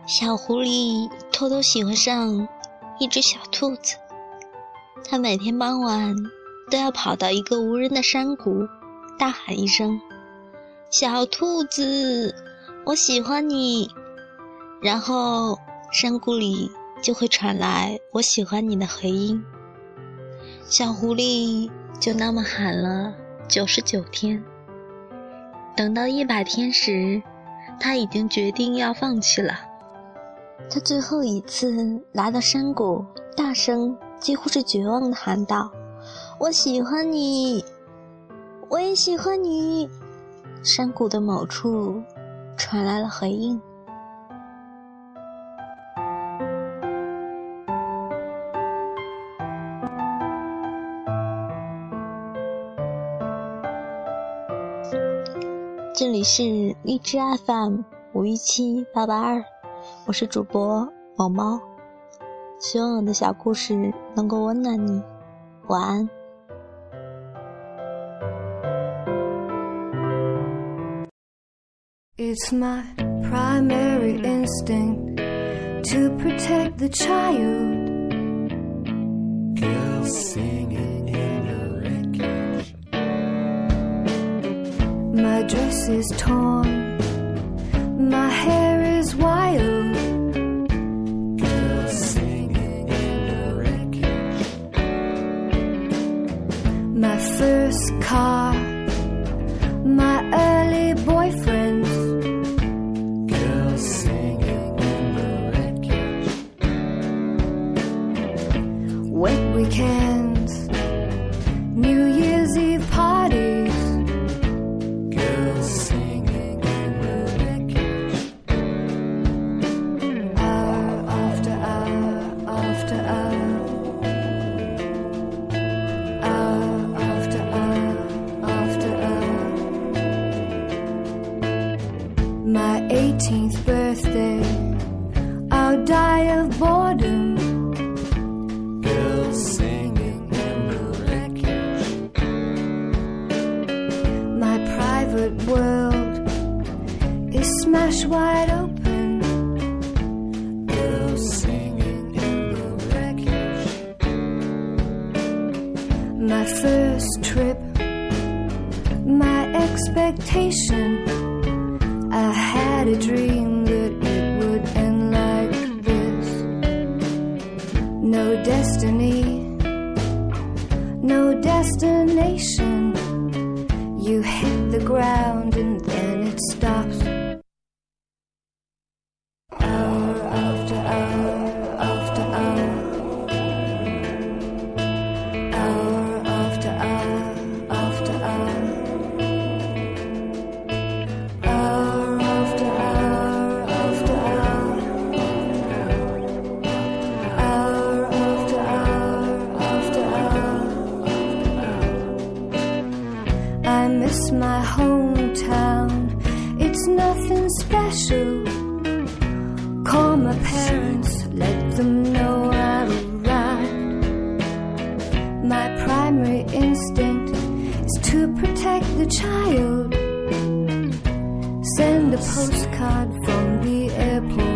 小狐狸偷偷喜欢上一只小兔子，它每天傍晚都要跑到一个无人的山谷，大喊一声：小兔子，我喜欢你。然后山谷里就会传来我喜欢你的回音。小狐狸就那么喊了99天，等到100天时，他已经决定要放弃了。他最后一次来到山谷，大声几乎是绝望地喊道：我喜欢你，我也喜欢你。山谷的某处传来了回应。这里是荔枝 FM517882，我是主播毛毛，希望我的小故事能够温暖你，晚安。 It's my primary instinct to protect the child. Girls singing in the wreckage. My dress is torn, my hair is wild. Girls singing in the wreckage. My first car, my early boyfriend. Wet weekends, New Year's Eve parties, girls singing in the wreckage. Hour after hour after hour, hour after hour after hour. My 18th birthday, I'll die of boredom. Singing in the wreckage. My private world is smashed wide open. Girls singing in the wreckage. My first trip, my expectation. I had a dream that it would end like this. No destiny, no destination. You hit the ground and then it stops. Hour after hour after hour, hour after hour after hour, hour after hour after hour, hour after hour after hour. I miss my hometown, it's nothing special. Call my parents, let them know I'm around. My primary instinct is to protect the child. Send a postcard from the airport.